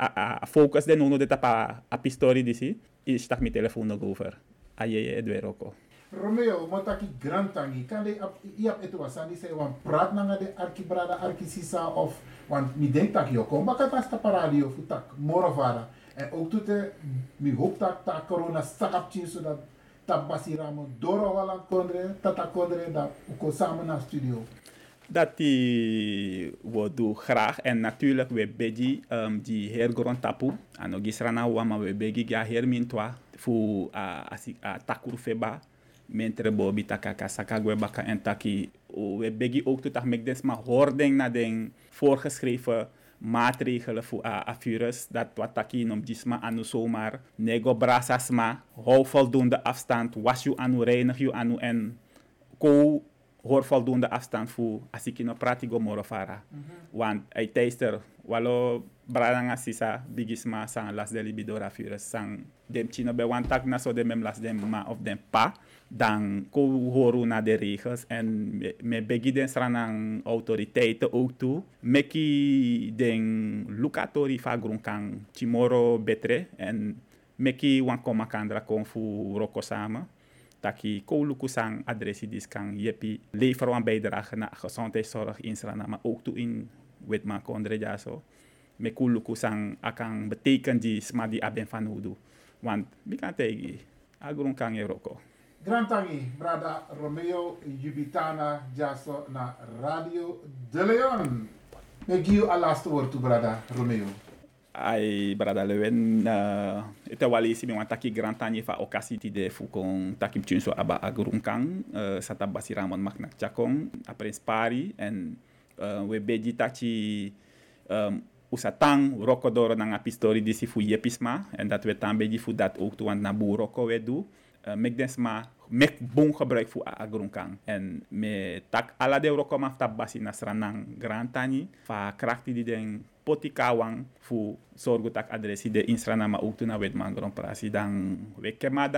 a focus de no de tapa a pistori disi is tak mi telefoon no over a ye edweroko Romeo, mataki grantangi, kan de iap etu wasani se wan praat nanga de arkibrada arkisisa of want mi denk tak yo kom baka tas tapa radio futak morovara en ook toete mi hoop tak ta corona sakap chin zodat Tabbasi Ramon doro walan kondre tata kondre da uko samen naar studio. Dat die we doen graag en natuurlijk we begi die hergrond tapu ano gisrana wama we begi ja hermintwa fu a takuru feba mentre bobi takaka sakagwe baka en taki we begi ook tot mek des ma hoording na den voorgeschreven maatregelen voor a virus dat wat taki nom gisma anu zomaar nego brasasma hou voldoende afstand was you anu reinig you anu en ko hoor voldoende afstand voor als ik no pratigo morofara want ai teister walo bradanga sisa bigisma sang las de libidora virus sang dem chino be wan tak na so de mem las dem ma of dem pa dan ko horu na de regels en me begi den stranang autoriteiten ook toe meki den lukatori fa grunkang chimoro betre en meki wan koma kandra kon fu roko samen taki ko lukusang adressi diskang yepi lever wan bijdrage na gezondheidszorg in Srana maar ook toe in wetman kondre jaso me ko lukusang akang beteken di sma di aben van hudu want bikan tegi agrunkang eroko Grantangi, Brada Romeo Jubitana Jaso na Radio De Leon. Ik geef je al laatste woord toe, Brada Romeo. Ai Brada Leon, ete wali si mi wan taki Grantangi fa okasi ti de fukong takim chunso aba agrunkang sa Tabbasi Ramon Macnak chakong apres pari en we beji tachi usatang rokodoro nang apistori disi fu yepisma en dat we tan beji fu dat ook tu want na bu roko we do mek desma mek bon gebruik voor agrunkang en me tak ala de roko ma Tabbasi nasranang Grantani fa krakti di den potikawang fu sorgu tak adresi de insrana ma ook tu na wetman grand prasi dan we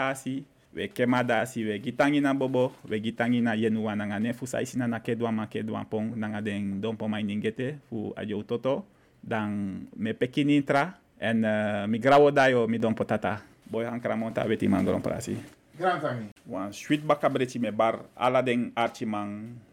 kemadasi we gitangi na bobo we gitangi na yenuwa nanga ne fu saisina na kedwa pong nanga den dompo mai ningete fu ajo toto dan me pekinintra en mi grawo dayo mi dompo tata boy hankramonta weti man grand prasi Grantangi wan sweet bakabreti me bar ala den archimang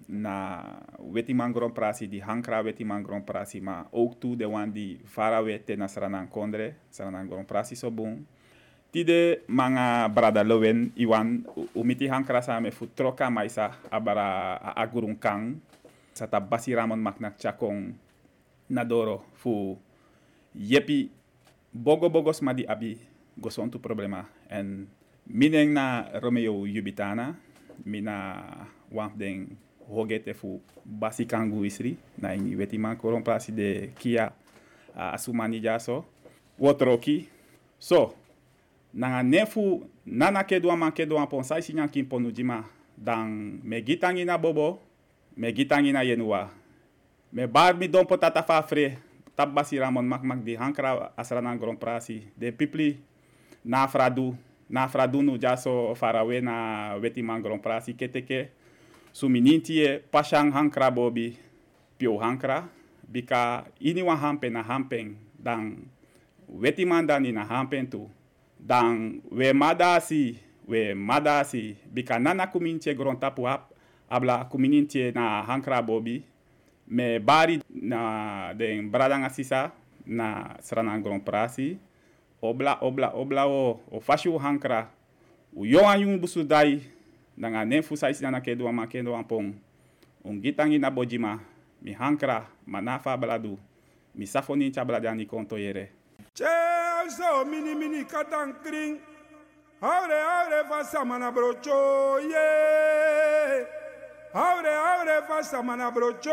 na Wetiman Grand Prix, die Hankra Wetiman Grand Prix, maar ook toe de wan die Farawe ten Sranan Kondre, Sranan Grand Prix so boom. Tide manga brada lowen iwan umiti Hankra same fu troka maisa abara agurun kang sata basi ramon maknak chakong nadoro fu yepi bogos madi abi gosontu problema en mineng na Romeo Yubitana mina wamp den hogete fu basi kangu isri na ini Wetiman Grand Prix de kia asumani jaso wotroki so nanga nefu nana kedwa man kedwa ponsai sinyan kim ponu jima dan me gitangi na bobo me gitangi na yenua me bar mi don potata fa fre tabasi ramon mak di Hankra Sranan Grand Prix de pipli na fradu nu jaso Farawe na Wetiman Grand Prix keteke suminintie pashang Hankra bobi pio Hankra bika ini wa hampen na hampen dan Wetiman dan na hampen tu dan we madasi bika nana kumintie grontapu abla kumintie na Hankra bobi me bari na den bradanga sisa na Sranan Grand Prix obla o fashu Hankra u yoanyun busudai nanga nefu saisi na kedwa makendo ampong ungitangi na bojima mi Hankra manafa bladu mi safoni chabladani konto yere Chezo mini katang kring Aure fasa mana brocho ye Aure fasa mana brocho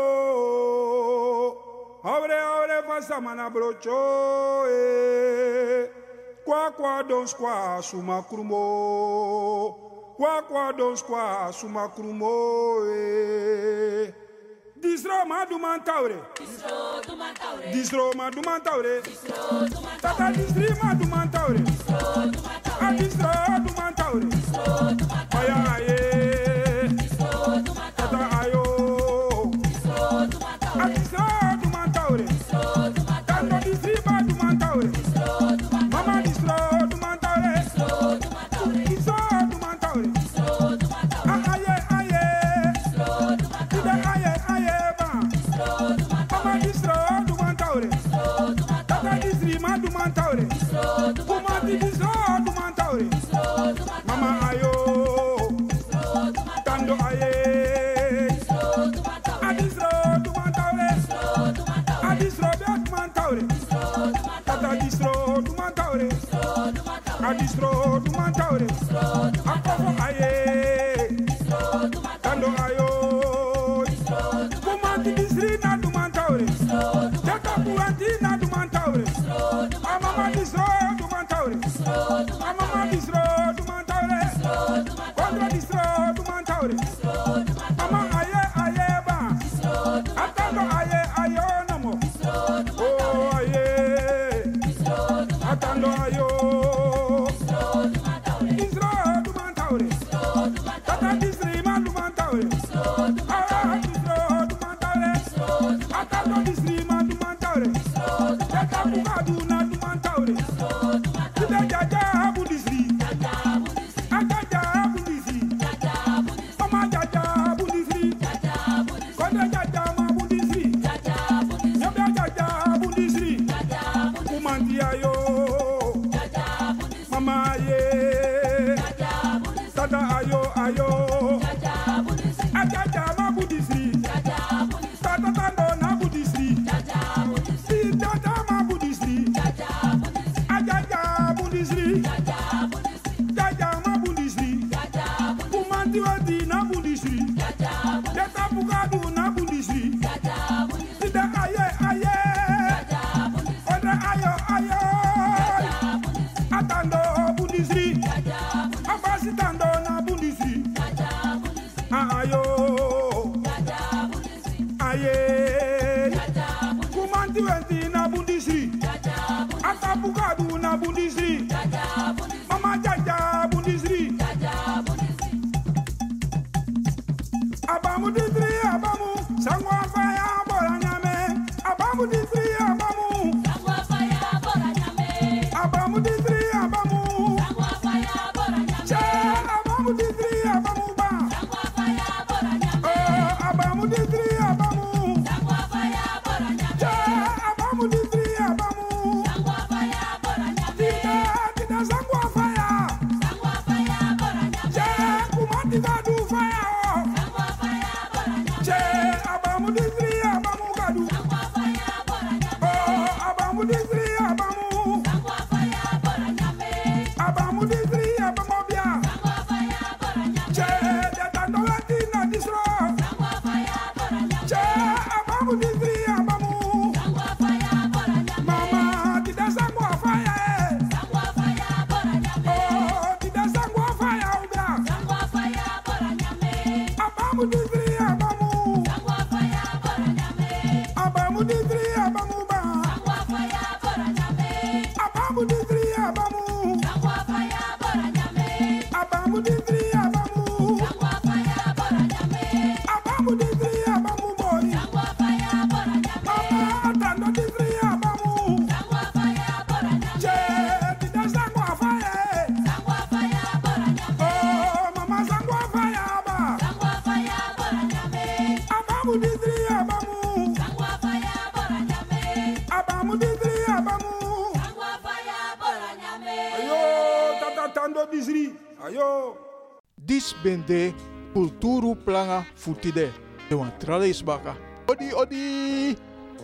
Aure fasa mana brocho ye Kwa don squaw suma krumo Kwa don squaw suma krumo ye Distro madumantaure Distro madumantaure Tata distri madumantaure Distro madumantaure Aya aye Tata ayo Distro madumantaure Tata distri madumantaure Mama distro madumantaure Distro madumantaure Aye Mama distro du mantaure Tata distri ma du mantaure Kuma di distro du mantaure Mama ayo Tando aye Adistro du mantaure Adistro du mantaure Tata distro du mantaure Adistro du mantaure Akofo aye Tando ayo Kuma di distri na du mantaure Jaka buanti na du mantaure Amama distro du mantaure Amama distro du mantaure Kontra distro du mantaure Mama aye ba Atando aye namo Oh aye Atando ayo Distro du mantaure Tata distri ma du mantaure Atando distri ma du mantaure Jaka bugadu na du mantaure Tida jaja bu distri Ajaja bu distri Mama jaja bu distri Konde jaja ma bu distri Nyabia jaja bu distri Kumanti ayo Mama ye Tata ayo Ajaja ma bu distri Tata tando na bu distri Si jaja ma bu distri Ajaja bu distri Jaja ma bu distri Kumanti wadi na bu distri Jata bugadu na bu distri Sida aye Odra ayo Atando bu distri Abasi tando na bu distri Ayo aye Kumanti wadi na bu distri Ata bugadu na bu distri Mama jaja bu distri Abamu distri abamu Sangwa faya bora nyame Abamu distri abamu Sangwa faya bora nyame Abamu distri abamu Sangwa faya bora nyame Abamu distri abamu ba Sangwa faya bora nyame Abamu distri abamu. Sangwa faya bora nyame. Abamu distri abamu ba. Sangwa faya bora nyame. Abamu distri abamu. Sangwa faya bora nyame. Abamu distri abamu. Sangwa faya bora nyame. Abamu distri abamu boy. Sangwa faya bora nyame. Atando distri abamu. Sangwa faya bora nyame. Che dida sangwa faya. Sangwa faya bora nyame. Oh mama sangwa faya ba. Sangwa faya bora nyame. Abamu distri abamu. Sangwa faya bora nyame. Abamu distri abamu. Sangwa faya bora nyame. Ayo tata tando distri. Ayo. Dis bende kulturu planga futide. De wan trales baka. Odi odi.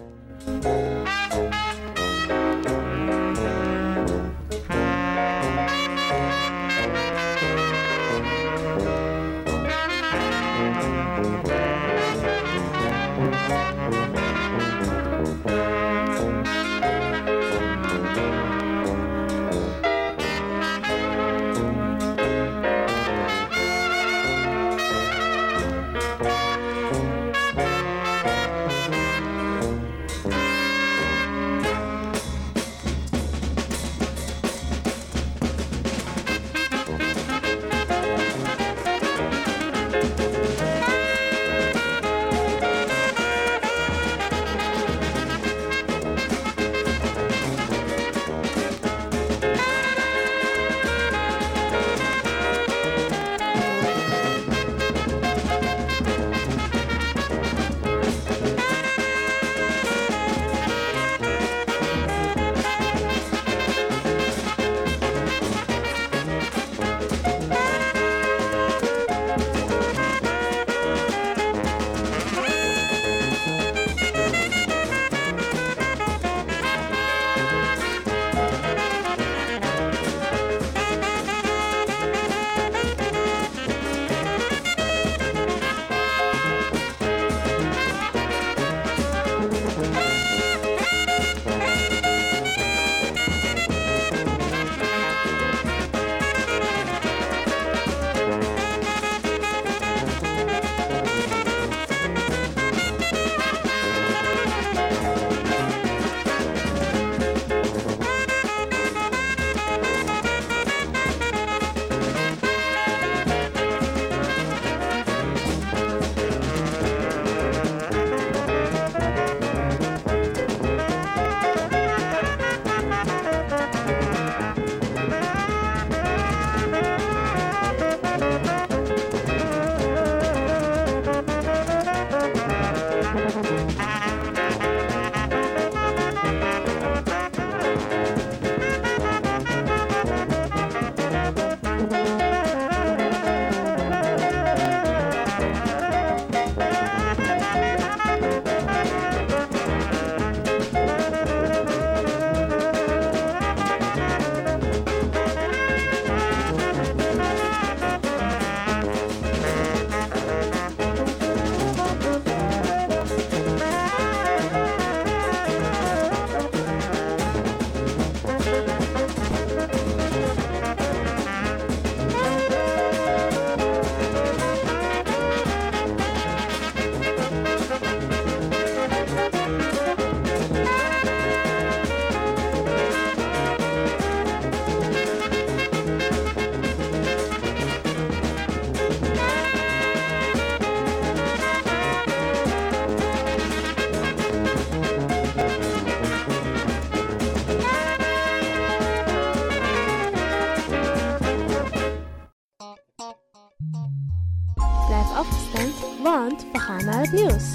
Blijf afgestemd, want we gaan naar het nieuws.